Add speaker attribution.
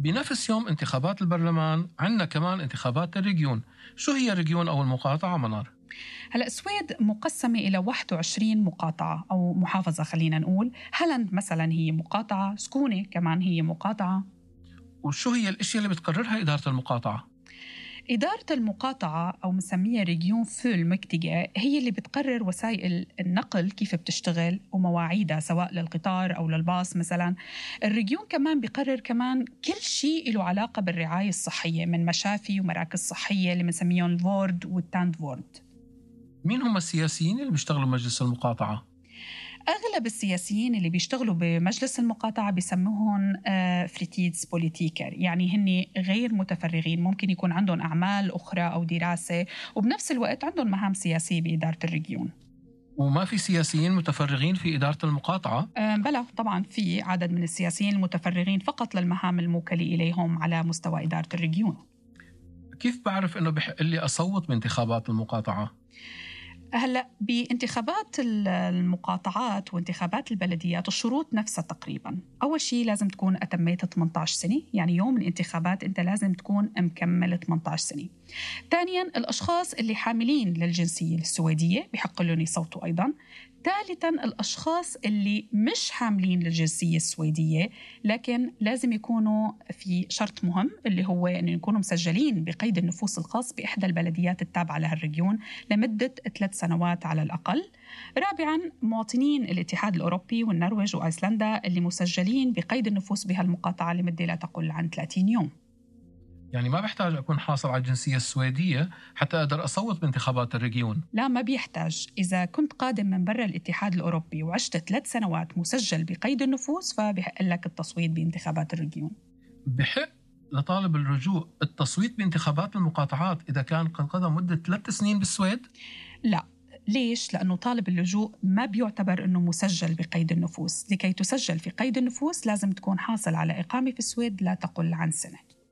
Speaker 1: بنفس يوم انتخابات البرلمان عندنا كمان انتخابات الريجيون. شو هي الريجيون أو المقاطعة منار؟
Speaker 2: هلأ السويد مقسمة إلى 21 مقاطعة أو محافظة، خلينا نقول. هالند مثلا هي مقاطعة، سكونة كمان هي مقاطعة.
Speaker 1: وشو هي الأشياء اللي بتقررها إدارة المقاطعة؟
Speaker 2: إدارة المقاطعة أو مسميها ريجيون فول مكتجة هي اللي بتقرر وسائل النقل كيف بتشتغل ومواعيدها سواء للقطار أو للباص مثلا. الريجيون كمان بيقرر كمان كل شيء له علاقة بالرعاية الصحية من مشافي ومراكز صحية اللي بنسميهم الفورد والتاند فورد.
Speaker 1: مين هم السياسيين اللي بيشتغلوا بمجلس المقاطعة؟
Speaker 2: أغلب السياسيين اللي بيشتغلوا بمجلس المقاطعة بيسموهم فريتيدز بوليتيكر، يعني هن غير متفرغين، ممكن يكون عندهم أعمال أخرى أو دراسة وبنفس الوقت عندهم مهام سياسية بإدارة الريجيون.
Speaker 1: وما في سياسيين متفرغين في إدارة المقاطعة؟
Speaker 2: بلى طبعا في عدد من السياسيين المتفرغين فقط للمهام الموكلة إليهم على مستوى إدارة الريجيون.
Speaker 1: كيف بعرف إنه بحق لي أصوت بانتخابات المقاطعة؟
Speaker 2: هلأ بانتخابات المقاطعات وانتخابات البلديات الشروط نفسها تقريبا. أول شيء لازم تكون أتميت 18 سنة، يعني يوم الانتخابات أنت لازم تكون مكمل 18 سنة. ثانياً الأشخاص اللي حاملين للجنسية السويدية بحق لهم يصوتوا أيضاً. ثالثاً الأشخاص اللي مش حاملين للجنسية السويدية لكن لازم يكونوا في شرط مهم اللي هو أن يكونوا مسجلين بقيد النفوس الخاص بإحدى البلديات التابعة لهالريجيون لمدة 3 سنوات على الأقل. رابعاً مواطنين الاتحاد الأوروبي والنرويج وأيسلندا اللي مسجلين بقيد النفوس بهالمقاطعة لمدة لا تقل عن 30 يوم.
Speaker 1: يعني ما بحتاج أكون حاصل على الجنسية السويدية حتى أقدر أصوت بانتخابات الريجيون؟
Speaker 2: لا، ما بيحتاج. إذا كنت قادم من برا الاتحاد الأوروبي وعشت 3 سنوات مسجل بقيد النفوس فبحق لك التصويت بانتخابات الريجيون.
Speaker 1: بحق لطالب اللجوء التصويت بانتخابات المقاطعات إذا كان قد قضى مدة 3 سنين بالسويد؟
Speaker 2: لا. ليش؟ لأنه طالب اللجوء ما بيعتبر أنه مسجل بقيد النفوس. لكي تسجل في قيد النفوس لازم تكون حاصل على إقامة في السويد لا تقل عن سنة.